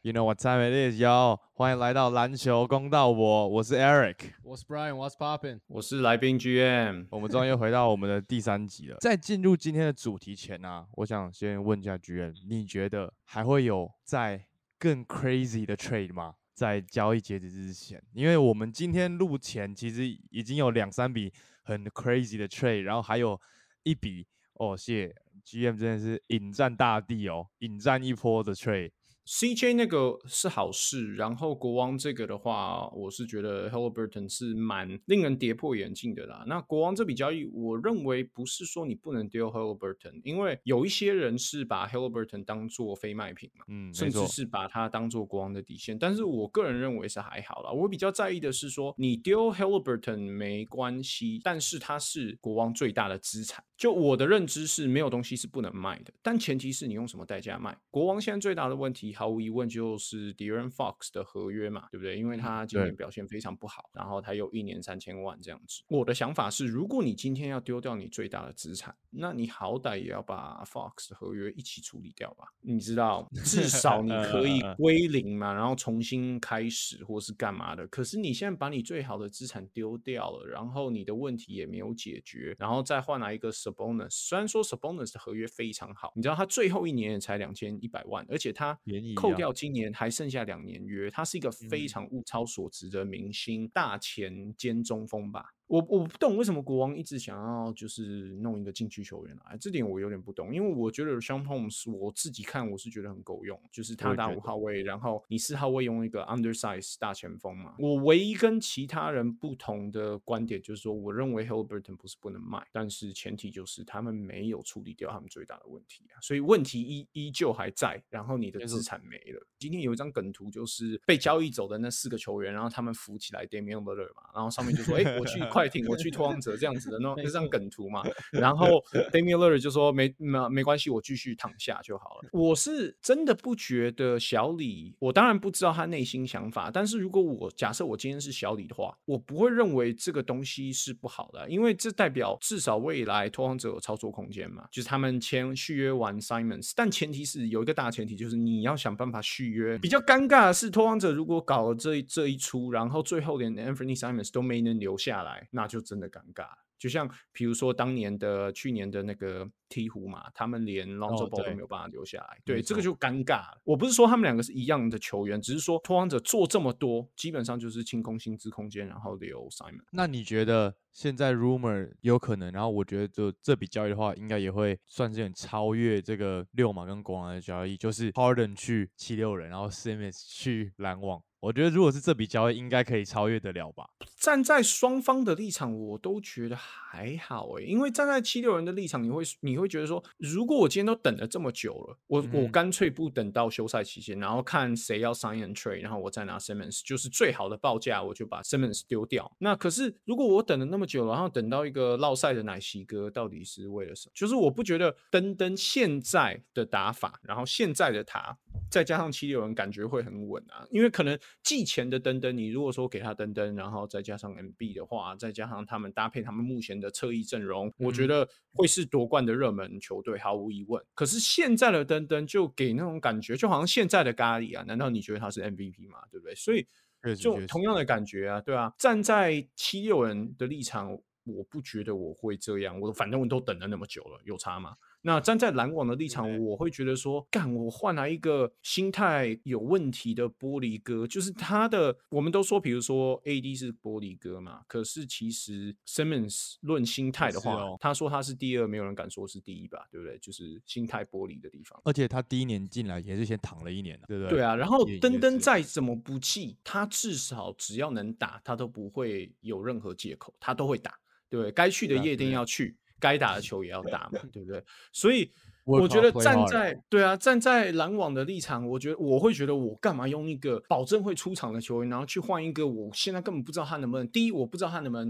You know what time it is, yo！欢迎来到篮球公道我是 Eric， 我是 Brian，What's poppin'？ 我是来宾 GM。 我们终于回到我们的第3集了。在进入今天的主题前啊，我想先问一下 GM， 你觉得还会有在更 crazy 的 trade 吗？在交易截止之前，因为我们今天录前其实已经有2-3笔很 crazy 的 trade， 然后还有一笔谢 GM 真的是引战大地哦，引战一波的 trade。CJ 那个是好事，然后国王这个的话，我是觉得 Haliburton 是蛮令人跌破眼镜的啦。那国王这笔交易，我认为不是说你不能丢 Haliburton， 因为有一些人是把 Haliburton 当做非卖品嘛，甚至是把它当做国王的底线。但是我个人认为是还好啦。我比较在意的是说，你丢 Haliburton 没关系，但是它是国王最大的资产。就我的认知是，没有东西是不能卖的，但前提是你用什么代价卖。国王现在最大的问题，毫无疑问就是 De'Aaron Fox 的合约嘛，对不对？因为他今年表现非常不好，然后他有1年3000万这样子。我的想法是，如果你今天要丢掉你最大的资产，那你好歹也要把 Fox 的合约一起处理掉吧？你知道，至少你可以归零嘛，然后重新开始或是干嘛的。可是你现在把你最好的资产丢掉了，然后你的问题也没有解决，然后再换来一个 Sabonis， 虽然说 Sabonis 的合约非常好，你知道他最后1年也才2100万，而且他扣掉今年还剩下2年约，他是一个非常物超所值的明星大前兼中锋吧。我不懂为什么国王一直想要就是弄一个禁区球员来，这点我有点不懂，因为我觉得 Sean Holmes 我自己看我是觉得很够用，就是他打5号位，然后你4号位用一个 undersize 大前锋嘛。我唯一跟其他人不同的观点就是说，我认为 Haliburton 不是不能卖，但是前提就是他们没有处理掉他们最大的问题啊，所以问题依旧还在，然后你的资产没了。今天有一张梗图，就是被交易走的那4个球员，然后他们扶起来 Damian Lillard 嘛，然后上面就说我去快艇，我去拓荒者这样子的那张梗图嘛，然后 Damian Lillard 就说没关系，我继续躺下就好了。我是真的不觉得小李，我当然不知道他内心想法，但是如果假设我今天是小李的话，我不会认为这个东西是不好的，因为这代表至少未来拓荒者有操作空间嘛，就是他们续约完 Simons， 但前提是有一个大前提，就是你要想办法续约。比较尴尬的是，拓荒者如果搞了这一出，然后最后连 Anthony Simons 都没能留下来，那就真的尴尬了。就像比如说去年的那个鹈鹕嘛，他们连 Lonzo Ball 都没有办法留下来，对，这个就尴尬了。我不是说他们2个是一样的球员，只是说拓荒者做这么多，基本上就是清空薪资空间，然后留 Simon。 那你觉得现在 rumor 有可能，然后我觉得就这笔交易的话，应该也会算是很超越这个6马跟国王的交易，就是 Harden 去76人，然后 Simmons 去篮网。我觉得如果是这笔交易，应该可以超越得了吧。 站在双方的立场，我都觉得还好因为站在76人的立场，你会觉得说，如果我今天都等了这么久了，我干脆不等到休赛期间，然后看谁要 sign and trade， 然后我再拿 Simmons， 就是最好的报价，我就把 Simmons 丢掉。那可是如果我等了那么久了，然后等到一个落赛的奶昔哥，到底是为了什么？就是我不觉得登现在的打法，然后现在的他，再加上76人，感觉会很稳啊。因为可能季前的登，你如果说给他登，然后再加上 MB 的话，再加上他们搭配他们目前的侧翼阵容，我觉得会是夺冠的热门球队，毫无疑问。可是现在的登就给那种感觉，就好像现在的咖喱啊，难道你觉得他是 MVP 吗？对不对？所以就同样的感觉啊，对啊。站在76人的立场，我不觉得我会这样，反正我都等了那么久了，有差吗？那站在篮网的立场，我会觉得说，我换来一个心态有问题的玻璃哥，就是他的，我们都说，比如说 AD 是玻璃哥嘛，可是其实 Simmons 论心态的话，他说他是第2，没有人敢说是第1吧，对不对？就是心态玻璃的地方。 而且他第1年进来也是先躺了1年，对不对？ 对啊，然后登再怎么不济，他至少只要能打，他都不会有任何借口，他都会打，对不对？该去的夜店要去。该打的球也要打嘛，对不对？所以我觉得站在篮网的立场，我会觉得我干嘛用一个保证会出场的球员，然后去换一个我现在根本不知道他能不能，第一我不知道他能不能打，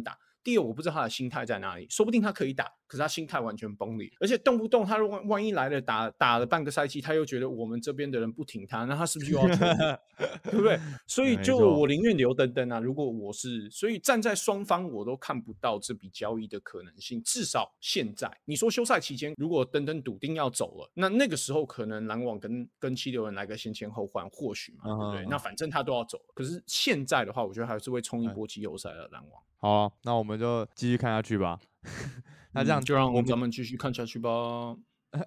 第二，我不知道他的心态在哪里，说不定他可以打，可是他心态完全崩裂，而且动不动他万一来了打了半个赛季，他又觉得我们这边的人不挺他，那他是不是又要求对不对？所以就我宁愿留登登啊。如果我是，所以站在双方我都看不到这笔交易的可能性。至少现在，你说休赛期间如果登登笃定要走了，那个时候可能篮网跟七六人来个先后换，或许嘛，对不对？那反正他都要走了。可是现在的话，我觉得还是会冲一波季后赛的篮网。 好啊，那我们就继续看下去吧。那这样就让咱们继续看下去吧。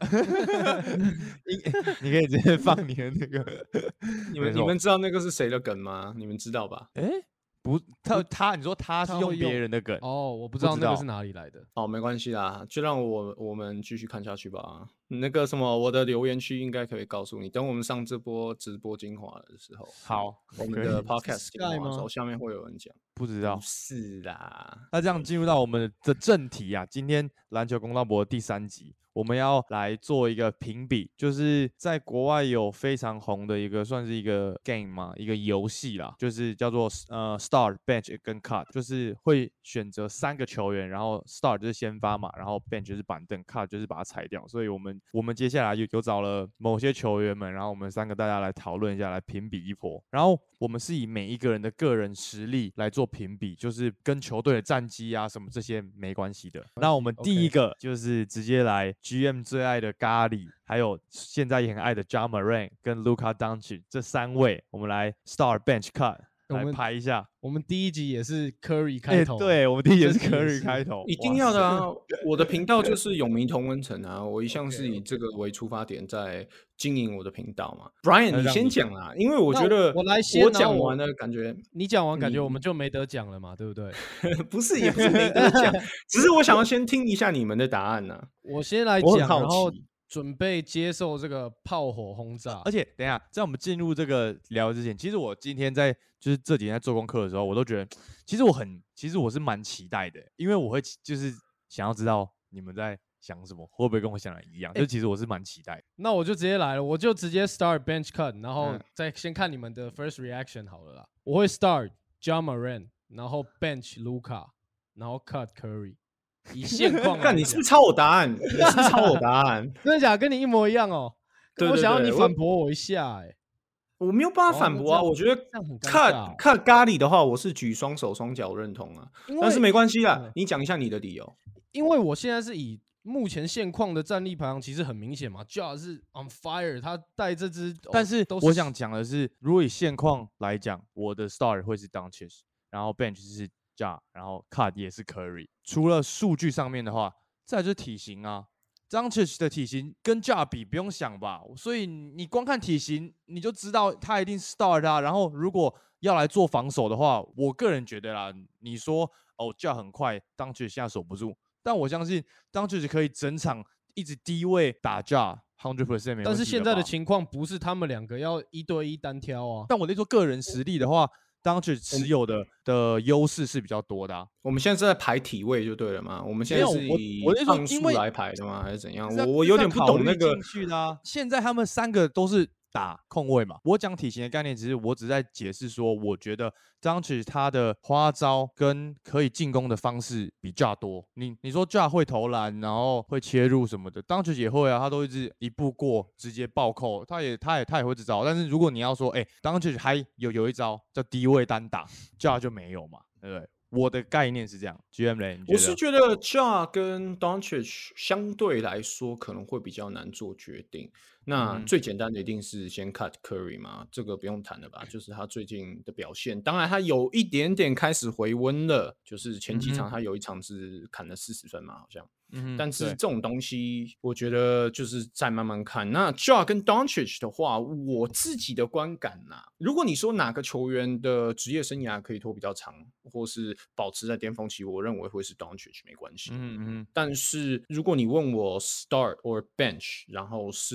你可以直接放你的那个你们知道那个是谁的梗吗？你们知道吧？ 不，你说他是用别人的梗哦，我不知道那个是哪里来的。 哦，没关系啦，就让我们继续看下去吧。那个什么，我的留言区应该可以告诉你，等我们上这波直播精华的时候， 好， 我们的 podcast 精华的时候，下面会有人讲。 不知道， 不是啦。 那这样进入到我们的正题啊，今天篮球公道博第3集。我们要来做一个评比，就是在国外有非常红的一个，算是一个 game 嘛，一个游戏啦，就是叫做start bench 跟 cut， 就是会选择3个球员，然后 start 就是先发嘛，然后 bench 就是板凳 ，cut 就是把它裁掉。所以我们接下来有找了某些球员们，然后我们3个大家来讨论一下，来评比一波。然后我们是以每一个人的个人实力来做评比，就是跟球队的战绩啊什么这些没关系的。那我们第一个就是直接来 GM 最爱的咖喱，还有现在也很爱的 Ja Morant 跟 Luka Doncic 这3位，我们来 start bench cut 来排一下。 我们第一集也是 Curry 开头， 对，我们第一集也是 Curry 开头， 一定要的啊！我的频道就是永明同温层啊，我一向是以这个为出发点在经营我的频道嘛。Brian， 你先讲啦，因为我觉得我讲完了，感觉你讲完，感觉我们就没得讲了嘛，对不对？ 不是，也不是没得讲，只是我想要先听一下你们的答案呢。 我先来讲，然后准备接受这个炮火轰炸。 而且等一下，在我们进入这个聊之前，其实我今天就是这几天在做功课的时候，我都觉得，其实我是蛮期待的，因为我会就是想要知道你们在想什么，会不会跟我想的一样？就其实我是蛮期待的。 那我就直接来了，我就直接 start bench cut， 然后再先看你们的 first reaction 好了啦。我会 start Ja Morant， 然后 bench Luka， 然后 cut Curry。以现况来讲， 你是不是抄我答案？你是不是抄我答案？ 真的假的？跟你一模一样哦。我想要你反驳我一下， 我没有办法反驳啊。我觉得看咖喱的话，我是举双手双脚认同啊。但是没关系啦，你讲一下你的理由。 因为我现在是以目前现况的战力排行，其实很明显嘛 ，Ja 是 on fire， 他带这支， 但是我想讲的是，如果以现况来讲，我的 start 会是 Doncic， 然后 bench 是 Ja， 然后 cut 也是 Curry。除了数据上面的话，再来就是体型啊。Doncic 的体型跟 Ja 比不用想吧，所以你光看体型你就知道他一定 start 啊。然后如果要来做防守的话，我个人觉得啦，你说Ja 很快 ，Doncic 现在守不住，但我相信 Doncic 可以整场一直低位打 Ja 100% 没问题。 但是现在的情况不是他们2个要1对1单挑啊。 但我那说个人实力的话，Doncic 持有的优势是比较多的啊。 我们现在是在排体位就对了嘛？我们现在是以磅数来排的吗？还是怎样？我有点不懂那个。 现在他们3个都是打控卫嘛。我讲体型的概念，我只在解释说，我觉得 Doncic 他的花招跟可以进攻的方式比Ja多。你说 Ja 会投篮，然后会切入什么的 ，Doncic 也会啊，他都一直一步过直接暴扣，他也会这招。但是如果你要说，Doncic 还有一招叫低位单打，Ja 就没有嘛，对不对？我的概念是这样 ，GM 嘞， 我是觉得 Ja 跟 Doncic 相对来说可能会比较难做决定。那最简单的一定是先 cut Curry 嘛，这个不用谈了吧？就是他最近的表现，当然他有一点点开始回温了，就是前几场他有一场是砍了40分嘛，好像。但是这种东西，我觉得就是再慢慢看。那 Ja 跟 Doncic 的话，我自己的观感呐，如果你说哪个球员的职业生涯可以拖比较长，或是保持在巅峰期，我认为会是 Doncic 没关系。但是如果你问我 start or bench， 然后是 right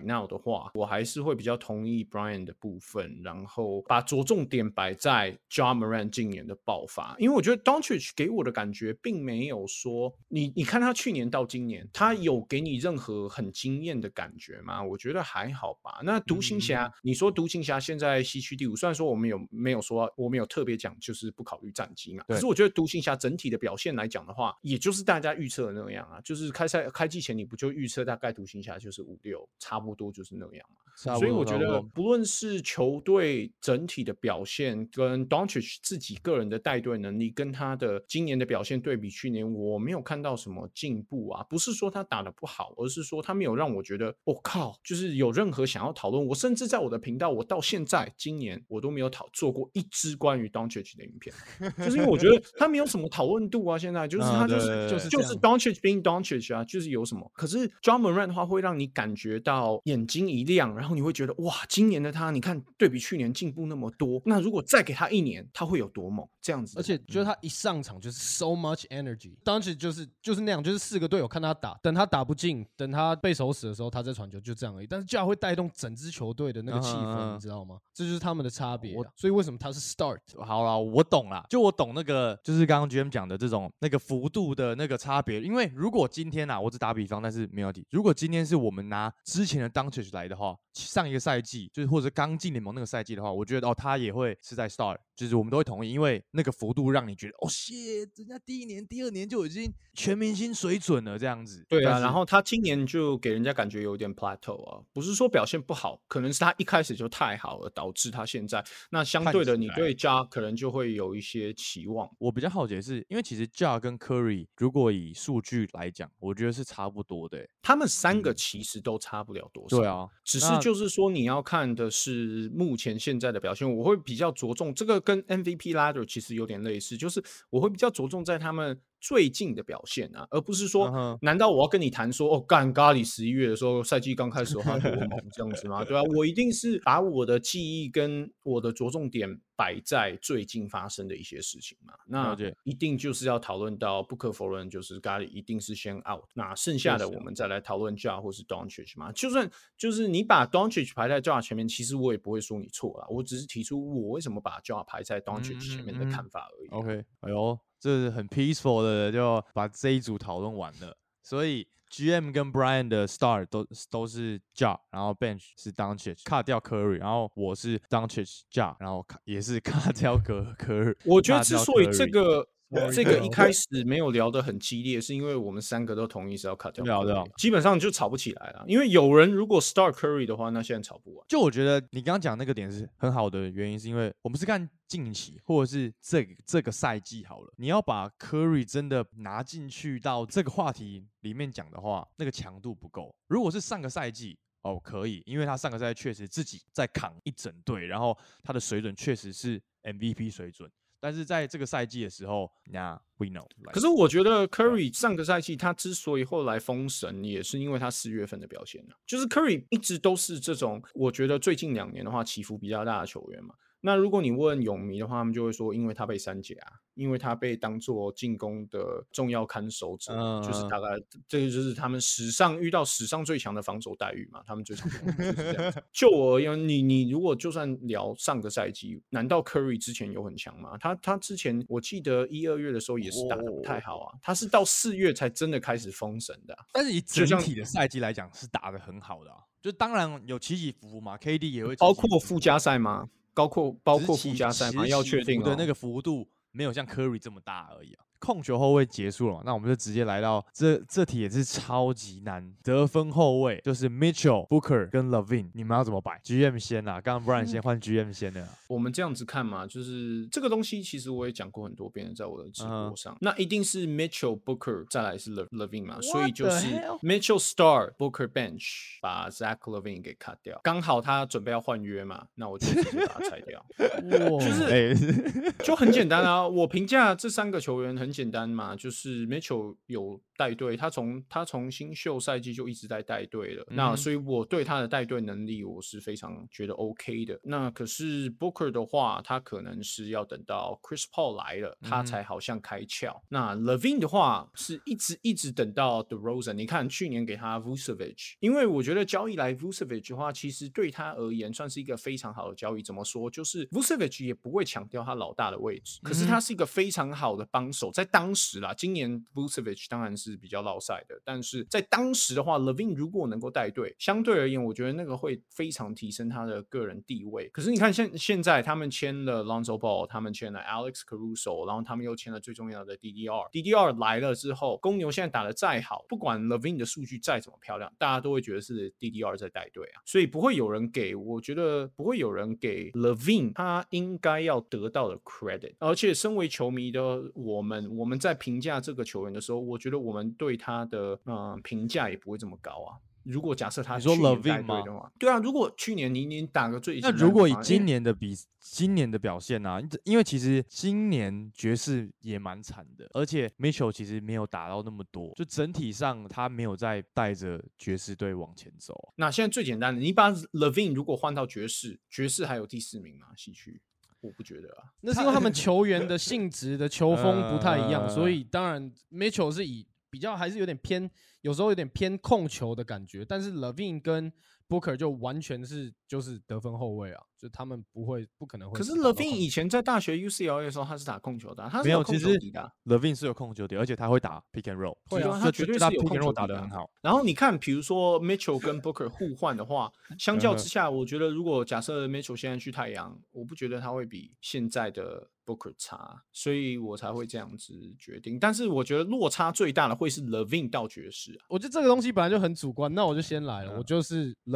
now 的话，我还是会比较同意 Brian 的部分，然后把着重点摆在 Ja Morant 今年的爆发，因为我觉得 Doncic 给我的感觉并没有说你看他去年到今年，他有给你任何很惊艳的感觉吗？我觉得还好吧。那独行侠，你说独行侠现在西区第5，虽然说我们没有说我们有特别讲就是不考虑战绩嘛，可是我觉得独行侠整体的表现来讲的话，也就是大家预测的那样啊，就是开季前你不就预测大概独行侠就是5-6，差不多就是那样嘛。所以我觉得不论是球队整体的表现跟 Doncic 自己个人的带队能力跟他的今年的表现对比去年，我没有看到什么进步啊，不是说他打得不好，而是说他没有让我觉得靠，就是有任何想要讨论。我甚至在我的频道，我到现在今年我都没有做过一支关于 Doncic 的影片，就是因为我觉得他没有什么讨论度啊，现在就是他就是 Doncic being Doncic 啊，就是有什么。可是 Ja Morant 的话会让你感觉到眼睛一亮，然后你会觉得哇，今年的他你看对比去年进步那么多，那如果再给他1年，他会有多猛这样子。 而且就是他一上场就是 so much energy， 当时就是那样，就是4个队友看他打，等他打不进，等他被守死的时候，他在传球，就这样而已。但是 Ja 会带动整支球队的那个气氛，你知道吗？这就是他们的差别。所以为什么他是 start？ 好啦，我懂啦，就我懂那个，就是刚刚 GM 讲的这种那个幅度的那个差别。因为如果今天我只打比方，但是没有题。如果今天是我们拿之前的 Doncic 来的话，上一个赛季就是或者刚进联盟那个赛季的话，我觉得他也会是在 start， 就是我们都会同意，因为那个幅度让你觉得shit， 人家第1年、第2年就已经全明星水准了这样子。 对啊，然后他今年就给人家感觉有点 plateau 啊，不是说表现不好，可能是他一开始就太好了，导致他现在那相对的，你对 Ja 可能就会有一些期望。 我比较好奇的是，因为其实 Ja 跟 Curry 如果以数据来讲，我觉得是差不多的。 他们3个其实都差不了多少。 对啊， 只是就是说你要看的是目前现在的表现，我会比较着重这个跟 MVP ladder 其实有点类似，就是我会比较着重在他们最近的表现啊，而不是说难道我要跟你谈说干咖喱11月的时候赛季刚开始的话多猛这样子吗？对啊，我一定是把我的记忆跟我的着重点摆在最近发生的一些事情嘛。那一定就是要讨论到不可否认，就是咖喱一定是先 out， 那剩下的我们再来讨论 Ja 或是 Doncic 嘛。就算就是你把 Doncic 排在 Ja 前面，其实我也不会说你错啦，我只是提出我为什么把 Ja 排在 Doncic 前面的看法而已。 OK， 哎呦，这是很 peaceful 的，就把这一组讨论完了。所以 GM 跟 Brian 的 start 都是 Ja， 然后 bench 是 Doncic， 卡掉 Curry， 然后我是 Doncic Ja， 然后也是卡掉 Curry。 我觉得之所以这个一开始没有聊得很激烈，是因为我们3个都同意是要 cut 掉 Curry， 基本上就吵不起来了。因为有人如果 start Curry 的话，那现在吵不完。 就我觉得你刚刚讲那个点是很好的原因，是因为我们是看近期或者是这个赛季好了，你要把 Curry 真的拿进去到这个话题里面讲的话，那个强度不够。如果是上个赛季可以，因为他上个赛季确实自己在扛一整队，然后他的水准确实是 MVP 水准。但是在这个赛季的时候，那 we know。 可是我觉得 Curry 上个赛季他之所以后来封神，也是因为他4月份的表现啊。就是 Curry 一直都是这种，我觉得最近2年的话起伏比较大的球员嘛。那如果你问泳迷的话，他们就会说，因为他被删减啊，因为他被当作进攻的重要看守者，就是大概这个就是他们遇到史上最强的防守待遇嘛，他们最常就是这样子。就我而言，你如果就算聊上个赛季，难道 Curry 之前有很强吗？他之前我记得1、2月的时候也是打得不太好啊，他是到4月才真的开始封神的。 但是以整体的赛季来讲，是打得很好的啊。就当然有起起伏伏嘛 ，KD 也会包括附加赛吗？包括附加赛吗？要确定的那个幅度没有像 Curry 这么大而已啊。控球后卫结束了嘛，那我们就直接来到这题也是超级难，得分后卫就是 Mitchell、Booker 跟 Levine， 你们要怎么摆 ？GM 先啦，刚刚 Brian 先换 GM 先的。 我们这样子看嘛，就是这个东西其实我也讲过很多遍，在我的直播上，那一定是 Mitchell、Booker 再来是 Levine 嘛，所以就是 Mitchell start、Booker bench， 把 Zach Levine 给 cut 掉，刚好他准备要换约嘛，那我就直接把他拆掉。就很简单啊，我评价这3个球员很简单嘛，就是 Mitchell 有带队，他从新秀赛季就一直在带队了。那所以我对他的带队能力我是非常觉得 OK 的。那可是 Booker 的话，他可能是要等到 Chris Paul 来了，他才好像开窍。那 LaVine 的话是一直等到 DeRozan。你看去年给他 Vucevic， 因为我觉得交易来 Vucevic 的话，其实对他而言算是一个非常好的交易。怎么说？就是 Vucevic 也不会强调他老大的位置，可是他是一个非常好的帮手。在当时啦，今年 Vucevic 当然是比较落赛的，但是在当时的话 ，LaVine 如果能够带队，相对而言，我觉得那个会非常提升他的个人地位。可是你看现在他们签了 Lonzo Ball， 他们签了 Alex Caruso， 然后他们又签了最重要的 DDR 来了之后，公牛现在打得再好，不管 LaVine 的数据再怎么漂亮，大家都会觉得是 DDR 在带队啊，所以不会有人给，我觉得不会有人给 LaVine 他应该要得到的 credit。而且身为球迷的我们在评价这个球员的时候，我觉得我们对他的评价也不会这么高啊。如果假设他去年带队的话，对啊，如果去年你打个最， 那如果以今年的表现啊，因为其实今年爵士也蛮惨的，而且 Mitchell 其实没有打到那么多，就整体上他没有在带着爵士队往前走。 那现在最简单的，你把 LaVine 如果换到爵士还有第4名吗？西区？我不觉得啊， 那是因为他们球员的性质的球风不太一样，所以当然 Mitchell 是以比较还是有点偏，有时候有点偏控球的感觉，但是 LaVine 跟 Booker 就完全是就是得分后卫啊，就他们不可能会。 可是 LaVine 以前在大学 UCLA 的时候，他是打控球的、啊，他是没有， 控球底的、啊。 LaVine 是有控球底，而且他会打 pick and roll， 会啊，他绝对是有控 pick and 球 roll 打得很好。 然后你看，比如说 Mitchell 跟 Booker 互换的话，相较之下，我觉得如果假设 Mitchell 现在去太阳，我不觉得他会比现在的 Booker 差，所以我才会这样子决定。但是我觉得落差最大的会是 LaVine 到爵士啊。 我觉得这个东西本来就很主观，那我就先来了，我就是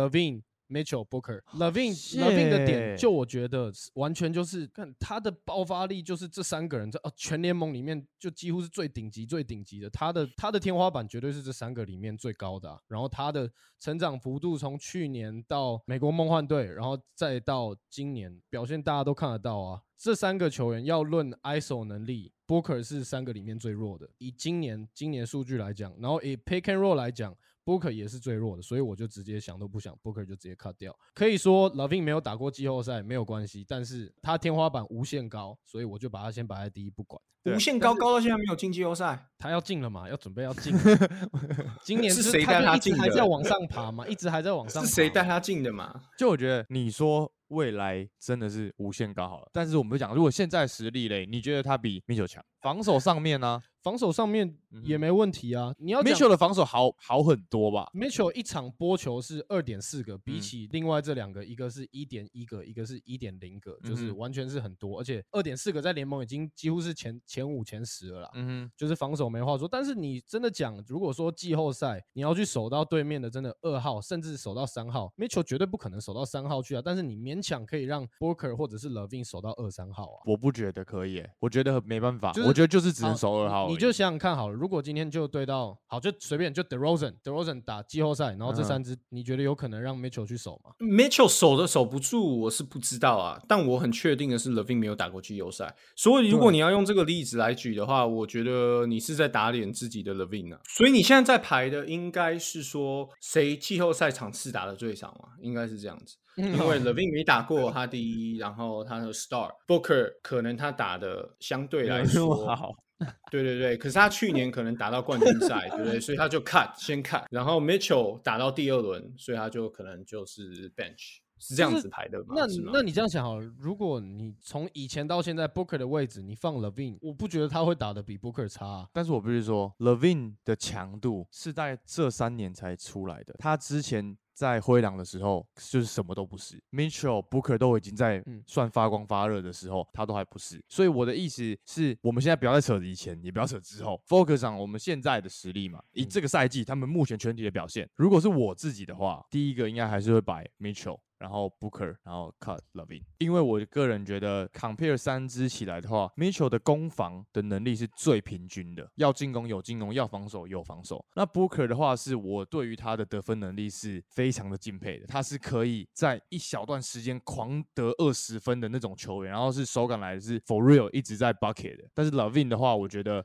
LaVine。Mitchell、Booker，LaVine 的点，就我觉得完全就是看他的爆发力，就是这3个人在全联盟里面就几乎是最顶级的。他的天花板绝对是这3个里面最高的、啊。然后他的成长幅度从去年到美国梦幻队，然后再到今年表现，大家都看得到啊。这3个球员要论 ISO 能力 ，Booker 是3个里面最弱的。以今年数据来讲，然后以 Pick and Roll 来讲。Booker 也是最弱的，所以我就直接想都不想 ，Booker 就直接 cut 掉。可以说 LaVine 没有打过季后赛没有关系，但是他天花板无限高，所以我就把他先摆在第一不管。 无限高到现在没有进季后赛， 他要进了嘛？要准备要进。今年是谁带他进的？ 还在往上爬嘛？一直还在往上爬。 是谁带他进的嘛？ 就我觉得你说未来真的是无限高好了，但是我们讲，如果现在实力嘞，你觉得他比 Mitchell 强？防守上面呢？ 防守上面也没问题啊。你要 Mitchell 的防守好很多吧 ？Mitchell 一场播球是2.4个，比起另外这2个，一个是1.1个，一个是1.0个，就是完全是很多。而且2.4个在联盟已经几乎是前5、前10了啦。就是防守没话说。但是你真的讲，如果说季后赛你要去守到对面的真的2号，甚至守到3号 ，Mitchell 绝对不可能守到3号去啊。但是你勉强可以让 Booker 或者是 LaVine 守到2、3号啊。 我不觉得可以我觉得没办法，我觉得就是只能守2号。 你就想想看好了，如果今天就对到好，就随便就 DeRozan 打季后赛，然后这3支，你觉得有可能让 Mitchell 去守吗 ？Mitchell 守不住，我是不知道啊。但我很确定的是 ，LaVine 没有打过季后赛，所以如果你要用这个例子来举的话，我觉得你是在打脸自己的 LaVine 啊。所以你现在在排的应该是说谁季后赛场次打的最少嘛？应该是这样子。因为 LaVine 没打过，他第一，然后他的 Star Booker 可能他打的相对来说好。 对，可是他去年可能打到冠军赛，对不对？所以他就先 cut， 然后 Mitchell 打到第2轮，所以他就可能就是 bench， 是这样子排的吗？ 那你这样想好了，如果你从以前到现在 Booker 的位置，你放 LaVine， 我不觉得他会打得比 Booker 差啊。 但是我必须说 ，LaVine 的强度是在这3年才出来的，他之前在灰狼的时候就是什么都不是 ，Mitchell、Booker 都已经在算发光发热的时候，他都还不是。所以我的意思是，我们现在不要再扯以前，也不要扯之后 ，focus 上我们现在的实力嘛。以这个赛季他们目前全体的表现，如果是我自己的话，第一个应该还是会摆 Mitchell。然后 Booker， 然后 cut LaVine， 因为我个人觉得 compare 3支起来的话 ，Mitchell 的攻防的能力是最平均的，要进攻有进攻，要防守有防守。那 Booker 的话，是我对于他的得分能力是非常的敬佩的，他是可以在一小段时间狂得20分的那种球员，然后是手感来的是 for real 一直在 bucket 的。但是 LaVine 的话，我觉得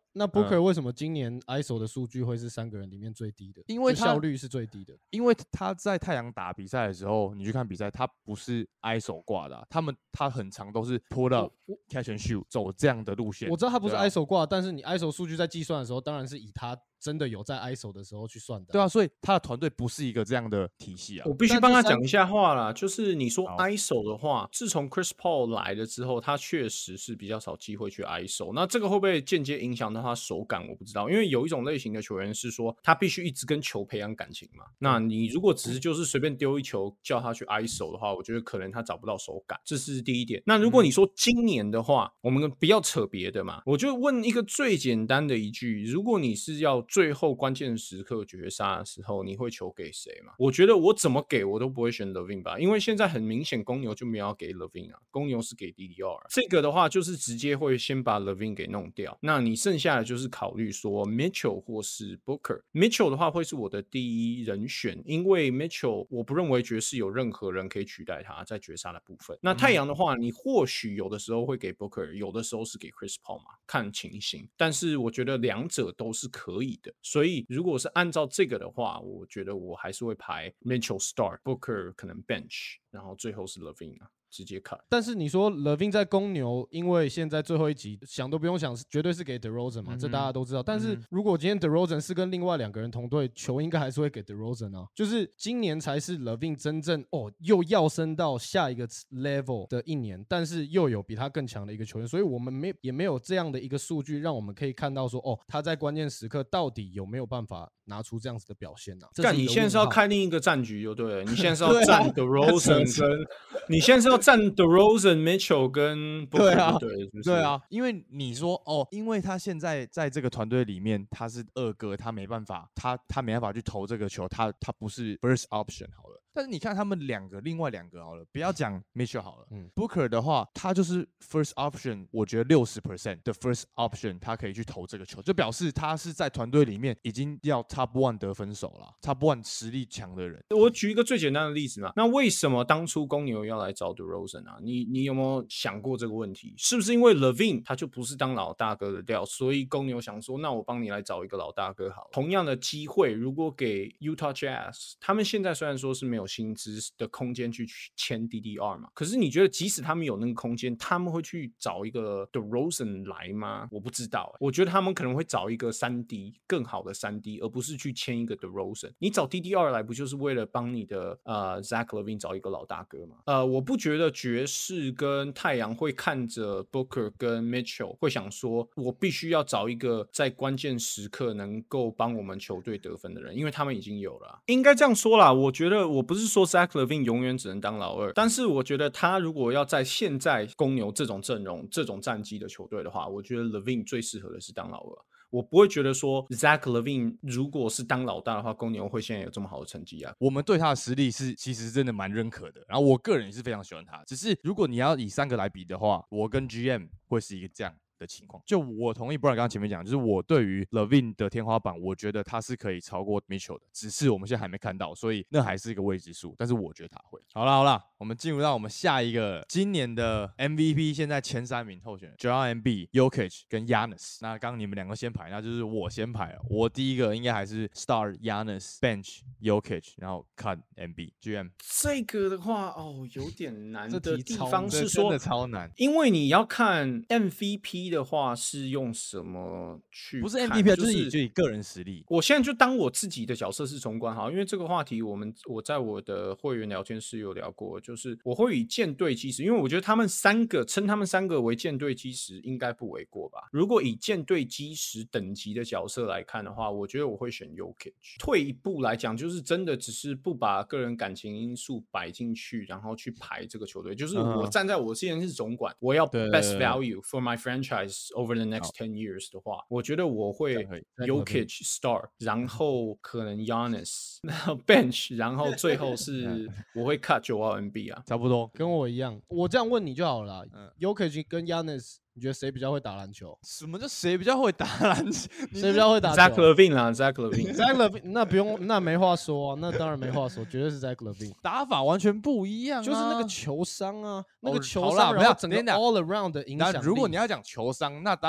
那 Booker 为什么今年 ISO 的数据会是3个人里面最低的？ 因为效率是最低的。 因为他在太阳打比赛的时候，你去看比赛，他不是 ISO 挂的、他很长都是 pull up catch and shoot 走这样的路线。 我知道他不是 ISO 挂，但是你 ISO 数据在计算的时候，当然是以他真的有在 ISO 的时候去算的。 对啊，所以他的团队不是一个这样的体系啊。 我必须帮他讲一下话啦，就是你说 ISO 的话，自从 Chris Paul 来了之后，他确实是比较少机会去 ISO。那这个会不会间接影响到他手感？我不知道，因为有一种类型的球员是说他必须一直跟球培养感情嘛。那你如果只是就是随便丢一球叫他去 ISO 的话，我觉得可能他找不到手感，这是第一点。那如果你说今年的话，我们不要扯别的嘛，我就问一个最简单的一句：如果你是要最后关键时刻绝杀的时候，你会球给谁嘛？我觉得我怎么给我都不会选 LaVine 吧，因为现在很明显公牛就没有要给 LaVine 啊，公牛是给 DDR， 这个的话就是直接会先把 LaVine 给弄掉，那你剩下的就是考虑说 Mitchell 或是 Booker。Mitchell 的话会是我的第一人选，因为 Mitchell 我不认为爵士有任何人可以取代他在绝杀的部分。那太阳的话，你或许有的时候会给 Booker， 有的时候是给 Chris Paul 嘛，看情形。但是我觉得两者都是可以的，所以如果是按照这个的话，我觉得我还是会排 Mitchell start， Booker 可能 bench， 然后最后是 LaVine 啊。直接看， 但是你说 LaVine 在公牛，因为现在最后一集想都不用想，绝对是给 DeRozan 嘛，这大家都知道。但是如果今天 DeRozan 是跟另外2个人同队，球应该还是会给 DeRozan 啊。就是今年才是 LaVine 真正又要升到下一个 level 的一年，但是又有比他更强的一个球员，所以我们也没有这样的一个数据让我们可以看到说他在关键时刻到底有没有办法拿出这样子的表现啊。 干，你现在是要开另一个战局就对了，你现在是要站 DeRozan 跟你现在是要站 DeRozan、Mitchell 跟 Booker 对啊，因为你说因为他现在在这个团队里面他是二哥，他没办法，他没办法去投这个球，他不是 first option 好了。但是你看他们另外两个好了，不要讲 Mitchell 好了，Booker 的话，他就是 first option， 我觉得60% 的 first option 他可以去投这个球，就表示他是在团队里面已经要 top one 得分手了，top one 实力强的人。 我举一个最简单的例子嘛，那为什么当初公牛要来找 DeRozan 啊？你有没有想过这个问题？是不是因为 LaVine 他就不是当老大哥的料，所以公牛想说，那我帮你来找一个老大哥好了。同样的机会，如果给 Utah Jazz， 他们现在虽然说是没有薪资的空间去签 DDR 嘛，可是你觉得即使他们有那个空间，他们会去找一个 DeRozan 来吗？我不知道，我觉得他们可能会找一个3D 更好的3D， 而不是去签一个 DeRozan。你找 DDR 来不就是为了帮你的Zach LaVine 找一个老大哥吗？我不觉得爵士跟太阳会看着 Booker 跟 Mitchell 会想说，我必须要找一个在关键时刻能够帮我们球队得分的人，因为他们已经有了。应该这样说啦，我觉得我不是说 Zach LaVine 永远只能当老二，但是我觉得他如果要在现在公牛这种阵容、这种战绩的球队的话，我觉得 LaVine 最适合的是当老二。我不会觉得说 Zach LaVine 如果是当老大的话，公牛会现在有这么好的成绩啊。 我们对他的实力是其实真的蛮认可的，然后我个人也是非常喜欢他。只是如果你要以3个来比的话，我跟 GM 会是一个这样的情况。就我同意 Brian 刚刚前面讲，就是我对于 LaVine 的天花板，我觉得他是可以超过 Mitchell 的，只是我们现在还没看到，所以那还是一个未知数。但是我觉得他会。好啦，我们进入到我们下一个今年的 MVP， 现在前3名候选人 Joel Embiid、Jokic 跟 Giannis。那刚刚你们2个先排，那就是我先排了。我第一个应该还是 Start Giannis、Bench Jokic， 然后 Cut Embiid。GM 这个的话有点难的地方是说， 真的超难， 因为你要看 MVP 的话是用什么去看， 不是 MVP， 就是以个人实力。 我现在就当我自己的角色是总管好，因为这个话题我在我的会员聊天室有聊过，就是我会以舰队基石，因为我觉得他们3个称他们3个为舰队基石应该不为过吧。如果以舰队基石等级的角色来看的话，我觉得我会选 Jokic。退一步来讲，就是真的只是不把个人感情因素摆进去，然后去排这个球队，就是我站在我之前是总管，我要 best value for my franchise over the next 10 years 的话，我觉得我会 Jokic start， 然后可能 Giannis， 然后 bench， 然后最后是我会 cut Joel Embiid 啊， 差不多跟我一样。我这样问你就好了啦，Jokic 跟 Giannis， 你觉得谁比较会打篮球？ 什么叫谁比较会打篮球？ 谁比较会打球 ？Zach LaVine 啦 ，Zach LaVine，Zach LaVine 那不用，那没话说啊，那当然没话说，绝对是 Zach LaVine， 打法完全不一样， 就是那个球商啊，那个球商， 不要整个 all around 的影响力。 如果你要讲球商，那当然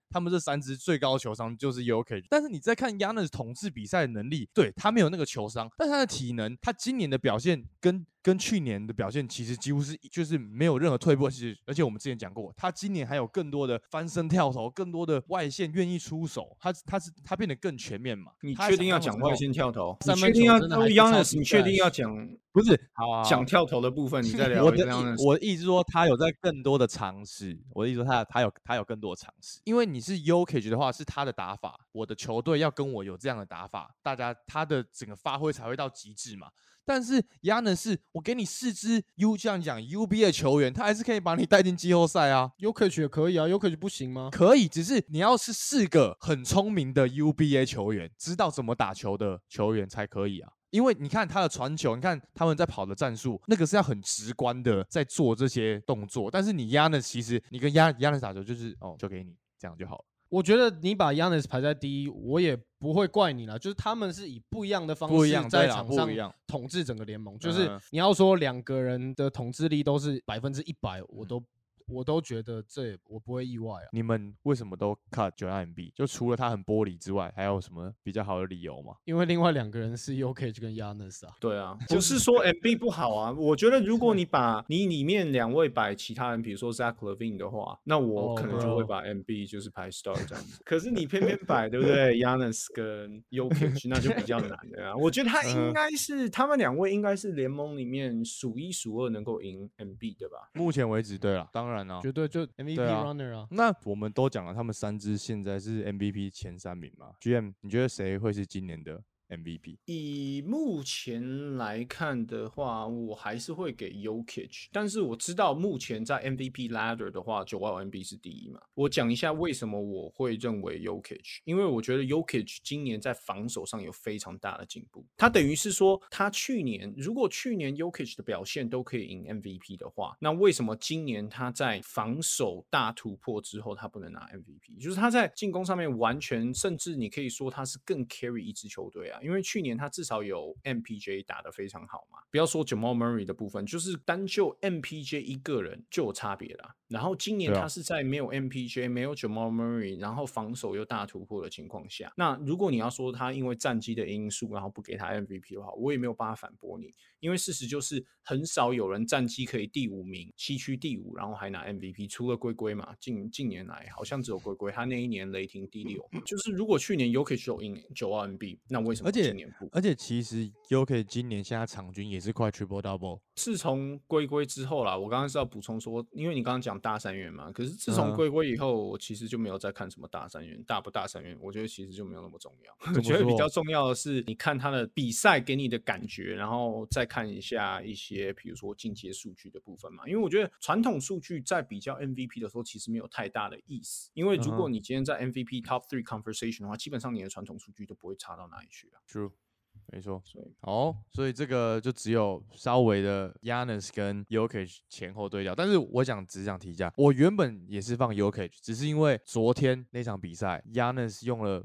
他们这3支最高球商就是 Jokic， 但是你再看 Giannis 统治比赛的能力，对他没有那个球商，但他的体能，他今年的表现跟去年的表现其实几乎是就是没有任何退步，而且我们之前讲过，他今年还有更多的翻身跳投，更多的外线愿意出手，他变得更全面嘛。 你确定要讲外线跳投？你三分确定要球真的还是 Giannis？你确定要讲不是讲跳投的部分？你再聊我 Giannis。 我的意思说，他有在更多的尝试。我的意思说他有更多的尝试，因为你是 Jokic 的话，是他的打法，我的球队要跟我有这样的打法，大家他的整个发挥才会到极致嘛。但是 Giannis 是我给你4支这样讲 UB 的球员，他还是可以把你带进季后赛啊。 Jokic 也可以啊，Jokic 不行吗？ 可以，只是你要是4个很聪明的 UBA 球员，知道怎么打球的球员才可以啊。因为你看他的传球，你看他们在跑的战术，那个是要很直观的在做这些动作。但是你 Giannis 其实你跟 Giannis 打球就是就给你这样就好了。 我觉得你把 Giannis 排在第一，我也不会怪你啦。就是他们是以不一样的方式在场上统治整个联盟。就是你要说2个人的统治力都是100%，我都觉得我不会意外啊。 你们为什么都 cut Joel Embiid？就除了他很玻璃之外，还有什么比较好的理由吗？ 因为另外2个人是 Jokic 跟 Giannis 啊。 对啊，不是说 Embiid 不好啊。我觉得如果你把你里面2位摆其他人，比如说 Zach LaVine 的话，那我可能就会把 Embiid 就是排 star 这样子。可是你偏偏摆对不对 ？Giannis 跟 Jokic 那就比较难了啊。我觉得他应该是他们2位应该是联盟里面数1数2能够赢 Embiid 的吧？ 目前为止，对了，当然。 绝对就 MVP runner 啊。 那我们都讲了，他们3支现在是 MVP 前3名嘛。GM， 你觉得谁会是今年的 MVP？ 以目前来看的话，我还是会给 Jokic， 但是我知道目前在 MVP ladder 的话，Joel Embiid 是第1嘛。我讲一下为什么我会认为 Jokic， 因为我觉得 Jokic 今年在防守上有非常大的进步。他等于是说，他如果去年 Jokic 的表现都可以赢 MVP 的话，那为什么今年他在防守大突破之后，他不能拿 MVP？ 就是他在进攻上面完全，甚至你可以说他是更 carry 一支球队啊。因为去年他至少有 MPJ 打得非常好嘛，不要说 Jamal Murray 的部分，就是单就 MPJ 一个人就有差别啦。然后今年他是在没有 MPJ 没有 Jamal Murray 然后防守又大突破的情况下，那如果你要说他因为战绩的因素然后不给他 MVP 的话，我也没有办法反驳你，因为事实就是很少有人战绩可以第5名西区第5然后还拿 MVP， 除了龟龟嘛，近年来好像只有龟龟，他那一年雷霆第6，就是如果去年 Jokic 有赢Joel Embiid， 那为什么今年不？ 而且其实 Jokic 今年现在场均也是快 triple double。 自从龟龟之后啦，我刚刚是要补充说，因为你刚刚讲大三元嘛，可是自从龟龟以后，我其实就没有再看什么大三元，大不大三元，我觉得其实就没有那么重要。我觉得比较重要的是，你看他的比赛给你的感觉，然后再看一下一些，比如说进阶数据的部分嘛。因为我觉得传统数据在比较 MVP 的时候，其实没有太大的意思。因为如果你今天在 MVP Top 3 conversation 的话，基本上你的传统数据都不会差到哪里去啊。 True。没错，所以这个就只有稍微的 Giannis 跟 Jokic 前后对调，但是我只想提一下，我原本也是放 Jokic， 只是因为昨天那场比赛 Giannis 用了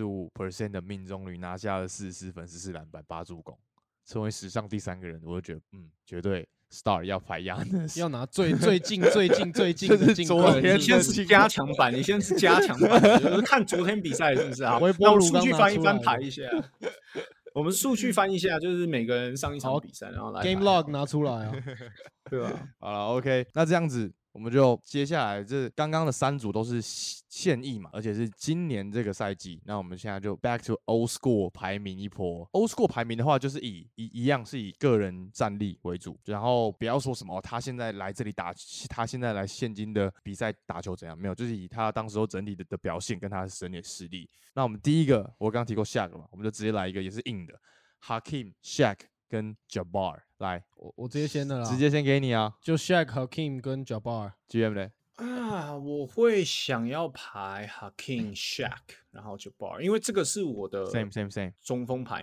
85% 的命中率拿下了44分、14篮板、8助攻，成为史上第3个人，我就觉得绝对 Star 要排 Giannis， 要拿最近的进攻。 你先是加强版，就是看昨天比赛是不是啊？那我数据翻一翻排一下。我们数据翻一下，就是每个人上一场比赛，然后来 Game Log 拿出来啊， 对吧？ 好了 ，OK， 那这样子我们就接下来这刚刚的3组都是现役嘛，而且是今年这个赛季。那我们现在就 back to old school 排名一波。old school 排名的话，就是一样是以个人战力为主，然后不要说什么他现在来这里打，他现在来现今的比赛打球怎样，没有，就是以他当时候整体的表现跟他的整体实力。那我们第一个我刚刚提过 Shaq 嘛，我们就直接来一个也是硬的 Hakeem、Shaq 跟 Jabbar。来， 我直接先的啦， 直接先给你啊， 就 Shaq、Hakeem 跟 Jabbar。GM 嘞？ 我会想要排 Hakeem、Shaq， 然后 Jabbar， 因为这个是我的 same 中锋排名。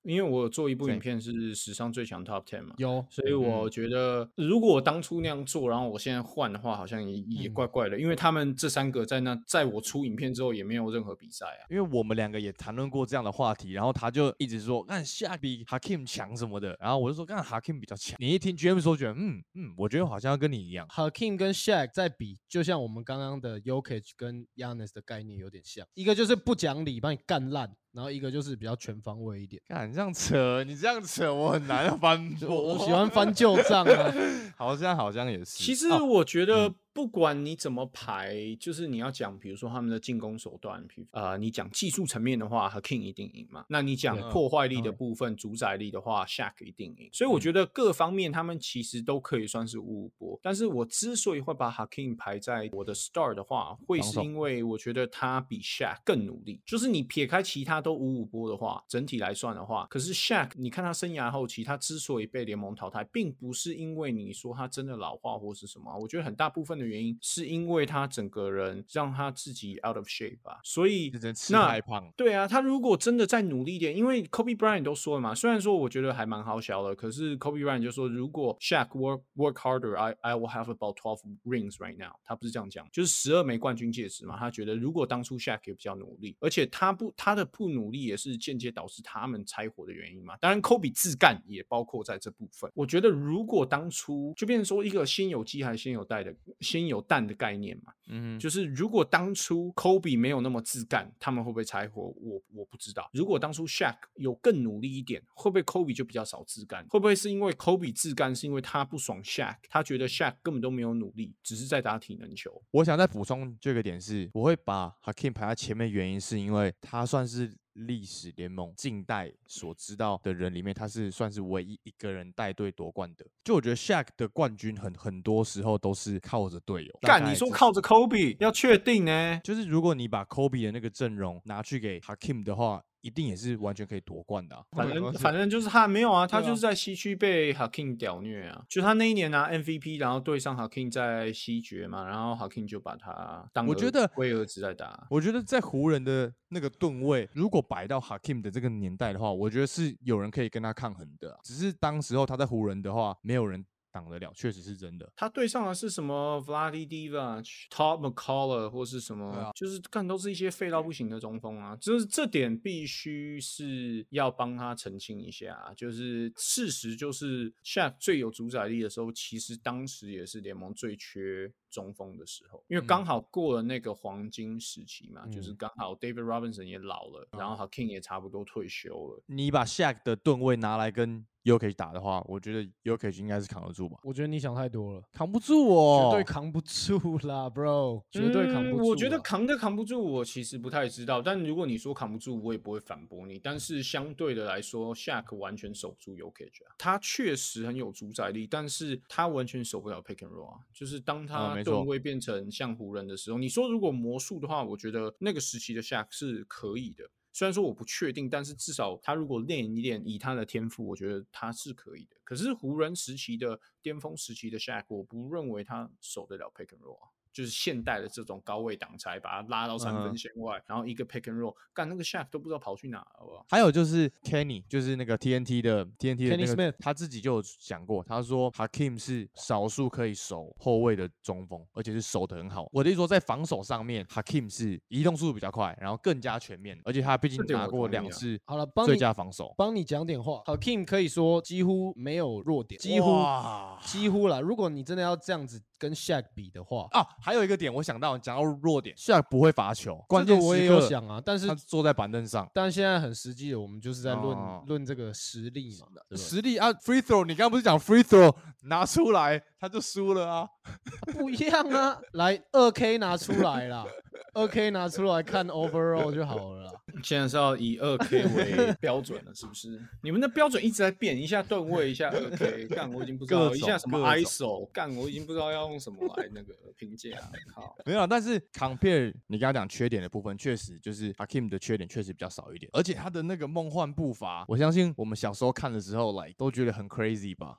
因为我有做一部对影片是史上最强 Top 10嘛， 有所以我觉得如果我当初那样做，然后我现在换的话，好像也怪怪的，因为他们这3个在我出影片之后也没有任何比赛啊。 因为我们2个也谈论过这样的话题，然后他就一直说，看Shaq比 Hakeem 强什么的，然后我就说，看 Hakeem 比较强。你一听 GM 说，觉得我觉得好像要跟你一样。 Hakeem 跟 Shaq 在比，就像我们刚刚的 Jokic 跟 Giannis 的概念有点像，一个就是不讲理把你干烂，然后一个就是比较全方位一点。 看你这样扯，我很难翻我喜欢翻旧账啊。 好像也是。 其实我觉得不管你怎么排，就是你要讲，比如说他们的进攻手段，你讲技术层面的话 ，Hakeem 一定赢嘛。那你讲破坏力的部分、主宰力的话 ，Shaq 一定赢。所以我觉得各方面他们其实都可以算是五五波。但是我之所以会把 Hakeem 排在我的 star 的话，会是因为我觉得他比 Shaq 更努力。就是你撇开其他都五五波的话，整体来算的话，可是 Shaq 你看他生涯后期，他之所以被联盟淘汰，并不是因为你说他真的老化或是什么，我觉得很大部分的原因是因为他整个人让他自己 out of shape 吧，所以吃太胖。 对啊，他如果真的再努力一点，因为 Kobe Bryant 都说了嘛，虽然说我觉得还蛮好笑的，可是 Kobe Bryant 就说，如果 Shaq work harder, I will have about 12 rings right now。他不是这样讲，就是12枚冠军戒指嘛。他觉得如果当初 Shaq 也比较努力，而且他的不努力也是间接导致他们拆伙的原因嘛。当然 Kobe 自干也包括在这部分。我觉得如果当初就变成说一个先有鸡还是先有蛋的概念嘛。就是如果当初 Kobe 没有那么自干，他们会不会拆伙？我不知道。如果当初 Shaq 有更努力一点，会不会 Kobe 就比较少自干？会不会是因为 Kobe 自干是因为他不爽 Shaq， 他觉得 Shaq 根本都没有努力，只是在打体能球？ 我想再补充这个点是，我会把 Hakeem 排在前面，原因是因为他算是历史联盟近代所知道的人里面，他是算是唯一一个人带队夺冠的。就我觉得 Shaq 的冠军很多时候都是靠着队友。 干，你说靠着 Kobe， 要确定呢？ 就是如果你把 Kobe 的那个阵容拿去给 Hakeem 的话，一定也是完全可以夺冠的啊。 反正就是他没有啊，他就是在西区被 Hakeem 屌虐啊。就他那一年拿 MVP， 然后对上 Hakeem 在西决嘛，然后 Hakeem 就把他当龟儿子在打。 我觉得在湖人的那个吨位，如果摆到 Hakeem 的这个年代的话，我觉得是有人可以跟他抗衡的啊。只是当时候他在湖人的话，没有人挡得了，确实是真的。 他对上的是什么 Vlade Divac、Todd McCullough 或是什么，就是干都是一些废到不行的中锋啊。就是这点必须是要帮他澄清一下。就是事实就是 Shaq 最有主宰力的时候，其实当时也是联盟最缺中锋的时候，因为刚好过了那个黄金时期嘛，就是刚好 David Robinson 也老了，然后 Hakeem 也差不多退休了。 你把 Shaq 的吨位拿来跟Jokic 打的话，我觉得 Jokic 应该是扛得住吧。 我觉得你想太多了， 扛不住哦， 绝对扛不住啦 ，Bro， 绝对扛不住。 我觉得扛不住，我其实不太知道。但如果你说扛不住，我也不会反驳你。但是相对的来说 ，Shaq 完全守不住 Jokic 啊。他确实很有主宰力，但是他完全守不了 Pick and Roll 啊。就是当他吨位变成像湖人的时候，你说如果魔术的话，我觉得那个时期的 Shaq 是可以的。虽然说我不确定，但是至少他如果练一练，以他的天赋，我觉得他是可以的。可是湖人时期的巅峰时期的 Shaq， 我不认为他守得了 Pick and Roll 啊。就是现代的这种高位挡拆，把他拉到3分线外，然后一个 pick and roll， 干那个 Shaq 都不知道跑去哪了，好不好？ 还有就是 Kenny， 就是那个 TNT 的那个 Smith， 他自己就有讲过，他说 Hakeem 是少数可以守后卫的中锋，而且是守得很好。我的意思说，在防守上面 ，Hakeem 是移动速度比较快，然后更加全面，而且他毕竟拿过2次最佳防守。 帮你讲点话 ，Hakeem 可以说几乎没有弱点，几乎啦。如果你真的要这样子跟 Shaq 比的话啊，还有一个点我想到，讲到弱点 ，Shaq 不会罚球，关键我也有想啊，但是他坐在板凳上。 但现在很实际的，我们就是在论这个实力嘛， 实力啊 ，free throw， 你刚刚不是讲 free throw 拿出来他就输了啊？ 不一样啊，来2K 拿出来啦，2K 拿出来看 overall 就好了啦。 现在是要以2K 为标准了，是不是？你们的标准一直在变，一下吨位，一下2K， 干我已经不知道，一下什么 ISO， 干我已经不知道要用什么来那个评价。靠， 没有，但是 compare 你刚刚讲缺点的部分，确实就是 Hakeem 的缺点确实比较少一点，而且他的那个梦幻步伐，我相信我们小时候看的时候，都觉得很 crazy 吧。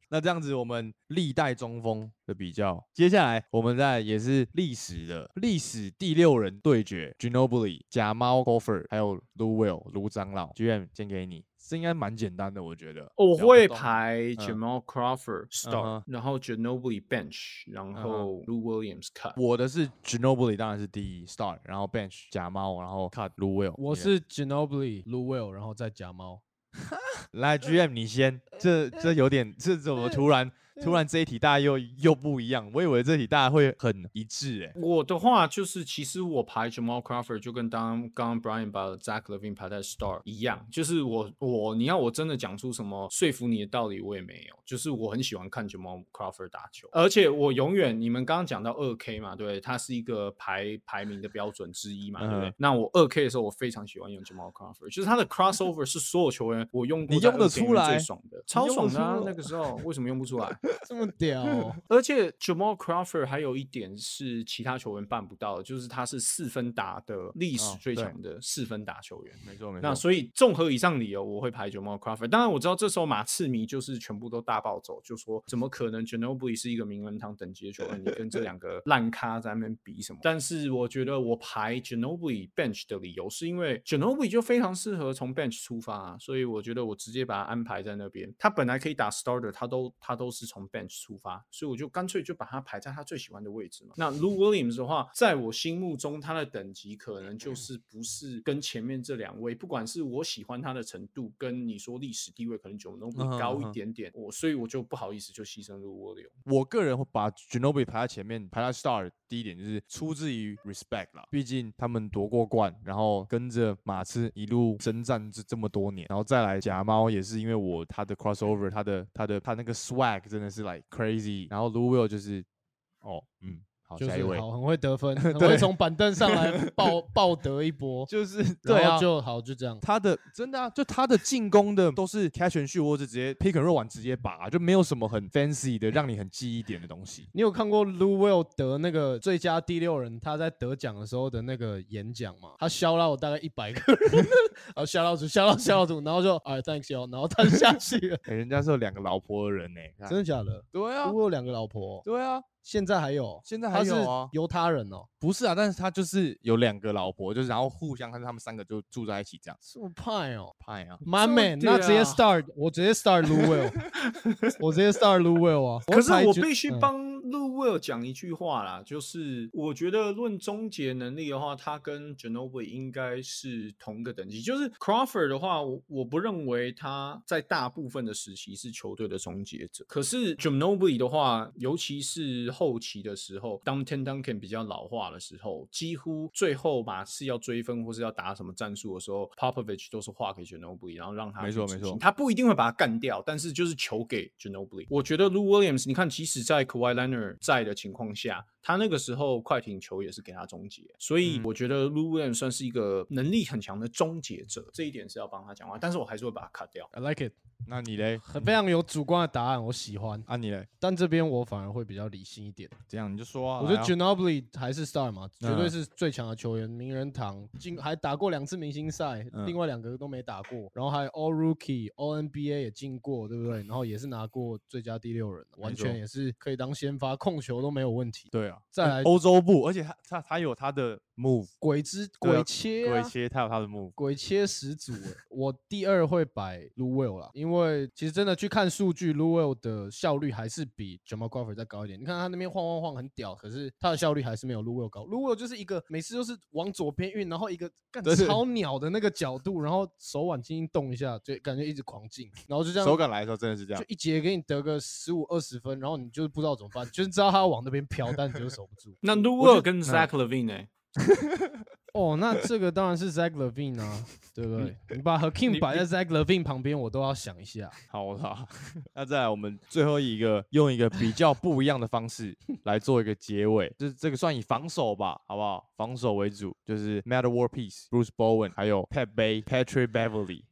那这样子，我们历代中锋的比较，接下来我们再也是历史第6人对决 ，Ginobili、假猫 Crawford 还有 Lou Will 卢长老 ，GM 先给你，这应该蛮简单的，我觉得。 我会聊不动排 Jamal Crawford start，、 嗯然后 Ginobili bench，然后 Lou Williams cut。 我的是 Ginobili 当然是第一 start，然后 bench 假猫，然后 cut Lou Will。 我是 Ginobili、Lou Will，然后再假猫。 来 GM 你先，这有点，这怎么突然这一题大家又不一样？我以为这题大家会很一致我的话就是，其实我排 Jamal Crawford 就跟刚刚 Brian 把 Zach LaVine 排在 star 一样，就是你要我真的讲出什么说服你的道理，我也没有。就是我很喜欢看 Jamal Crawford 打球，而且我永远，你们刚刚讲到2K 嘛，对，它是一个排名的标准之一嘛，对不对？那我2K 的时候，我非常喜欢用 Jamal Crawford，就是他的 crossover 是所有球员我用过你用得出来最爽的，超爽的啊！那个时候为什么用不出来？ 这么屌、哦！ 而且 Jamal Crawford 还有一点是其他球员办不到的，就是他是4分打的历史最强的4分打球员。 没错。 那所以综合以上理由，我会排 Jamal Crawford。当然我知道这时候马刺迷就是全部都大暴走，就说怎么可能 Ginobili 是一个名人堂等级的球员，你跟这2个烂咖在那边比什么？但是我觉得我排 Ginobili bench 的理由是因为 Ginobili 就非常适合从 bench 出发啊，所以我觉得我直接把他安排在那边。他本来可以打 starter， 他都是从 bench 出发，所以我就干脆就把他排在他最喜欢的位置嘛。那 Lou Williams 的话，在我心目中他的等级可能就是不是跟前面这2位，不管是我喜欢他的程度，跟你说历史地位可能 Ginobili 高一点点，所以我就不好意思就牺牲 Lou Williams。 我个人会把 Ginobili 排在前面，排在 star。第一点就是出自于 respect 啦，毕竟他们夺过冠，然后跟着马刺一路征战这么多年，然后再来假猫也是因为他的 crossover， 他那个 swag 真的是 like crazy， 然后 Lou Will 就是好， 就是下一位， 好，很会得分，很会从板凳上来爆得一波， 就是对啊， 就这样。 他的真的啊，就他的进攻的都是 catch and shoot， 或者直接 pick and roll 完直接拔，就没有什么很 fancy 的让你很记忆点的东西。 你有看过 Lou Will 得那个最佳第6人他在得奖的时候的那个演讲吗？他shout out大概100个人，然后shout out， 然后就thanks you， 然后他就下去了。 人家是有2个老婆的人呢， 真的假的？ 对啊， Lou Will 有2个老婆， 对啊。 现在还有还有啊， 犹他人哦， 不是啊，但是他就是有2个老婆，就是然后互相，他们3个就住在一起这样。 这么派哦， 派啊 ，My man，那直接 start， 我直接 start Lou Will， 我直接 start Lou Will 啊。 可是我必须帮 Lou Will 讲一句话啦，就是我觉得论终结能力的话，他跟 Ginobili 应该是同个等级。就是 Crawford 的话，我不认为他在大部分的时期是球队的终结者。可是 Ginobili 的话，尤其是后期的时候，当 Tim Duncan 比较老化的时候，几乎最后马刺要追分或是要打什么战术的时候 ，Popovich 都是划给 Ginobili， 然后让他没错， 他不一定会把他干掉，但是就是球给 Ginobili。我觉得 Lou Williams， 你看，即使在 Kawhi Leonard 在的情况下，他那个时候快艇球也是给他终结，所以我觉得 Lou Williams 算是一个能力很强的终结者，这一点是要帮他讲话，但是我还是会把他 cut 掉。 I like it。 那你嘞？ 非常有主观的答案，我喜欢。 啊，你嘞？ 但这边我反而会比较理性一点。 这样你就说啊。 我觉得 Ginobili 还是 star 嘛，绝对是最强的球员，名人堂，还打过2次明星赛，另外2个都没打过，然后还 All Rookie、All NBA 也进过，对不对？然后也是拿过最佳第6人，完全也是可以当先发，控球都没有问题。 对啊， 再来欧洲部，而且他有他的 move， 鬼切， 他有他的 move， 鬼切始祖。我第2会摆 Lou Will 啦，因为其实真的去看数据 ，Lou Will 的效率还是比 Jamal Crawford 再高一点。你看他那边晃很屌，可是他的效率还是没有 Lou Will 高。Lou Will 就是一个每次都是往左边运，然后一个超鸟的那个角度，然后手腕轻轻动一下，就感觉一直狂进，然后就这样。 手感来的时候真的是这样， 就一节给你得个15-20分，然后你就是不知道怎么办，就是知道他要往那边飘，但你就是守不住。 那 Lou Will 跟 Zach LaVine 呢？ 那这个当然是 Zach LaVine 啊，对不对？你把 Hakeem 摆在 Zach LaVine 旁边，我都要想一下。 好啦，那再来我们最后用一个比较不一样的方式来做一个结尾，就是这个算以防守吧，好不好？防守为主，就是 Metta World Peace、Bruce Bowen 还有 Pat Bay、Patrick Beverly。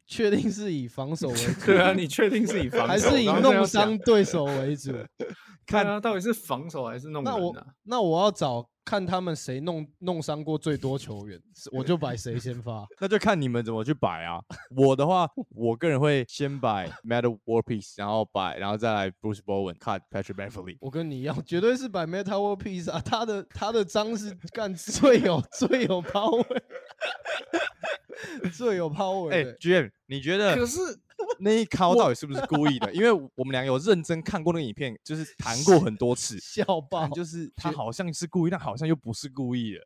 确定是以防守为主？ 对啊，你确定是以防守还是以弄伤对手为主？ 看啊，到底是防守还是弄人啊？ 那我要找看他们谁弄伤过最多球员，我就摆谁先发。 那就看你们怎么去摆啊。我的话，我个人会先摆 Metta World Peace， 然后再来 Bruce Bowen、Cut Patrick Beverly。 我跟你一样，绝对是摆 Metta World Peace 啊，他的章是干最有 power， 最有 power。 GM， 你觉得？ 可是那一靠到底是不是故意的？因为我们俩有认真看过那个影片，就是谈过很多次， 笑爆， 就是他好像是故意，但好像又不是故意的。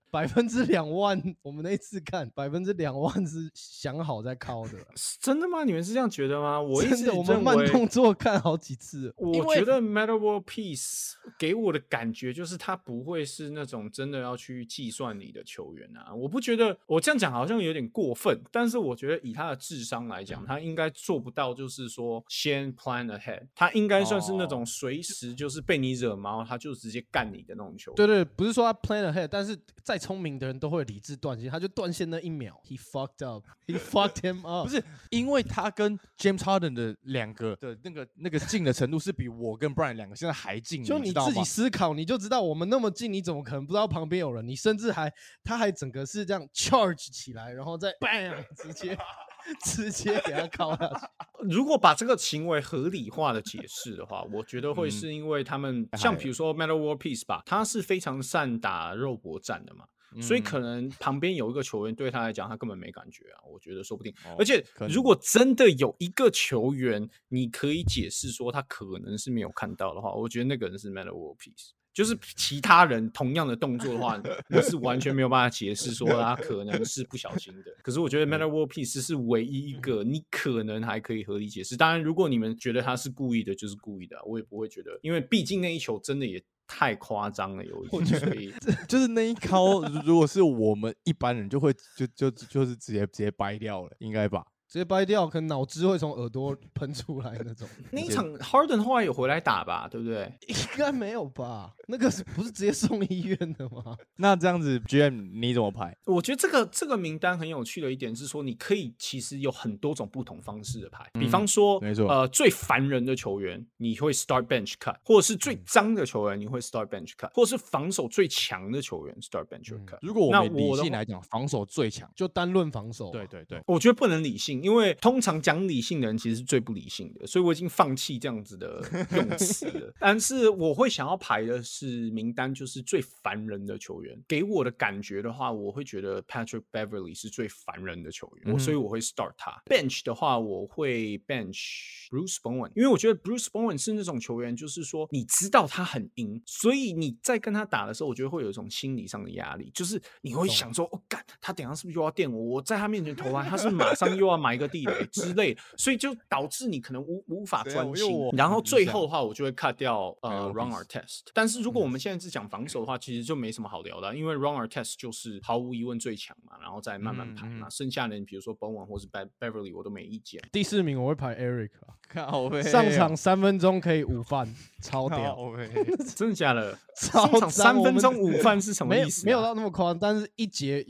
200%，我们那一次看200%是想好在靠的。 真的吗？你们是这样觉得吗？我真的，我们慢动作看好几次。 我觉得 Metta World Peace 给我的感觉就是他不会是那种真的要去计算你的球员啊。我不觉得我这样讲好像有点过分，但是我觉得以他的智商来讲，他应该做不到，就是说先 plan ahead， 他应该算是那种随时就是被你惹毛，他就直接干你的那种球员。 对对，不是说他 plan ahead， 但是再聪明的人都会理智断线，他就断线那一秒 ，he fucked up，he fucked him up。 不是因为他跟 James Harden 的两个的那个近的程度是比我跟 Brian 两个现在还近， 就你自己思考，你就知道我们那么近，你怎么可能不知道旁边有人？你甚至他还整个是这样 charge 起来，然后再 bang 直接给他靠下去。 如果把这个行为合理化的解释的话，我觉得会是因为他们像比如说 Metta World Peace 吧，他是非常善打肉搏战的嘛。所以可能旁边有一个球员对他来讲，他根本没感觉啊，我觉得说不定。而且如果真的有一个球员，你可以解释说他可能是没有看到的话，我觉得那个人是 Metta World Peace。就是其他人同样的动作的话，我是完全没有办法解释说他可能是不小心的。可是我觉得 Metta World Peace 是唯一一个你可能还可以合理解释。当然，如果你们觉得他是故意的，就是故意的，我也不会觉得，因为毕竟那一球真的也太夸张了，有一点，所以就是那一靠，如果是我们一般人就会就是直接掰掉了，应该吧？ 直接掰掉，可能脑汁会从耳朵喷出来那种。 那一场 Harden 后来有回来打吧，对不对？ 应该没有吧？那个不是直接送医院的吗？ 那这样子 GM 你怎么排？ 我觉得这个名单很有趣的一点是说，你可以其实有很多种不同方式的排。比方说， 没错， 最烦人的球员你会 start bench cut， 或者是最脏的球员你会 start bench cut， 或者是防守最强的球员 start bench cut。 如果我们理性来讲，防守最强就单论防守。 对对对， 我觉得不能理性。因为通常讲理性的人其实是最不理性的，所以我已经放弃这样子的用词了。但是我会想要排的是名单，就是最烦人的球员。给我的感觉的话，我会觉得 Patrick Beverly 是最烦人的球员，所以我会 start 他。bench 的话，我会 bench Bruce Bowen， 因为我觉得 Bruce Bowen 是那种球员，就是说你知道他很赢，所以你在跟他打的时候，我觉得会有一种心理上的压力，就是你会想说，哦干，他等一下是不是又要电我？我在他面前投篮，他是马上又要埋一个地雷之类的，所以就导致你可能无法专心。然后最后的话，我就会 cut 掉Ron Artest。但是如果我们现在是讲防守的话，其实就没什么好聊的，因为 Ron Artest 就是毫无疑问最强嘛，然后再慢慢排嘛。剩下的人，比如说 Bowen 或是 Beverly， 我都没意见。 第4名我会排 Eric 啊， 上场3分钟可以5犯，超屌！ 真的假的？ 上场3分钟5犯是什么意思？ 没有到那么夸张，但是一节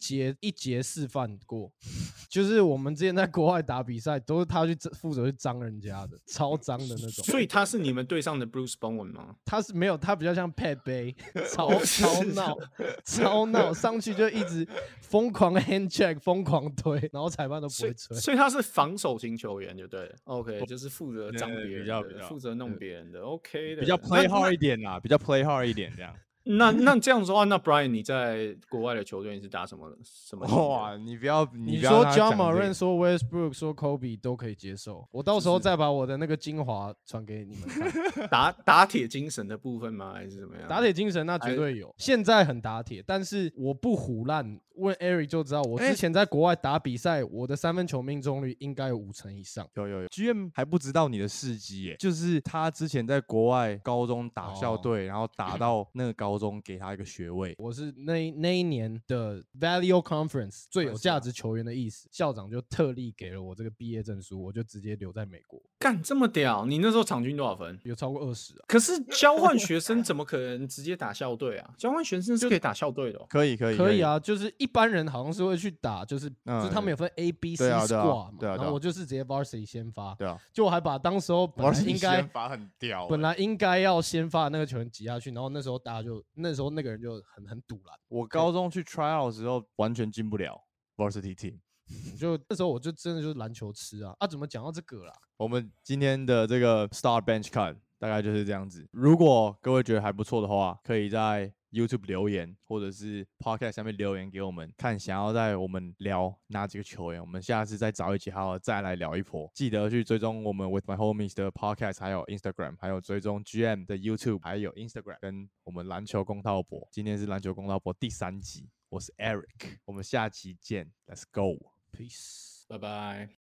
4犯过。就是我们之前在国外打比赛，都是他去负责去脏人家的，超脏的那种。 所以他是你们队上的 Bruce Bowen 吗？ 他是没有，他比较像 Pat Bay， 超闹，上去就一直疯狂 hand check， 疯狂推，然后裁判都不会吹。 所以他是防守型球员就对了。OK， 就是负责脏别人的，负责弄别人的。OK 的， 比较 play hard 一点啦，比较 play hard 一点这样。 那这样子的话，那 Brian 你在国外的球队你是打什么？ 哇，你不要说 Ja Morant 说 Westbrook 说 Kobe 都可以接受，我到时候再把我的那个精华传给你们看。打铁精神的部分吗？还是怎么样？ 打铁精神那绝对有，现在很打铁，但是我不唬烂。问 Eric 就知道，我之前在国外打比赛，我的3分球命中率应该有50%以上。 有 GM 还不知道你的事迹耶，就是他之前在国外高中打校队，然后打到那个高高中给他一个学位。 我是那一年的 Value Conference 最有价啊值球员的意思，校长就特例给了我这个毕业证书，我就直接留在美国， 干这么屌！你那时候场均多少分？ 有超过20啊。 可是交换学生怎么可能直接打校队啊？交换学生是可以打校队的、哦。 可以可以啊，就是一般人好像是会去打，就是他们有分 A、B、C 对啊 squad 嘛， 对啊然后我就是直接 varsity 先发， 对啊， 就我还把当时候本来应该法很屌、 本来应该要先发的那个球员挤下去，然后那时候大家就那时候那个人就很堵拦， 我高中去 try out 的时候完全进不了 varsity team。 就那时候我就真的就是篮球痴啊！怎么讲到这个啦？ 我们今天的这个 Star Bench Cut 大概就是这样子。如果各位觉得还不错的话，可以在 YouTube 留言，或者是 Podcast 下面留言给我们，看想要在我们聊哪几个球员，我们下次再找一集好好再来聊一波。记得去追踪我们 With My Homies 的 Podcast， 还有 Instagram， 还有追踪 GM 的 YouTube， 还有 Instagram， 跟我们篮球公道博。今天是篮球公道博第3集，我是 Eric， 我们下期见 ，Let's go， Peace。 拜拜。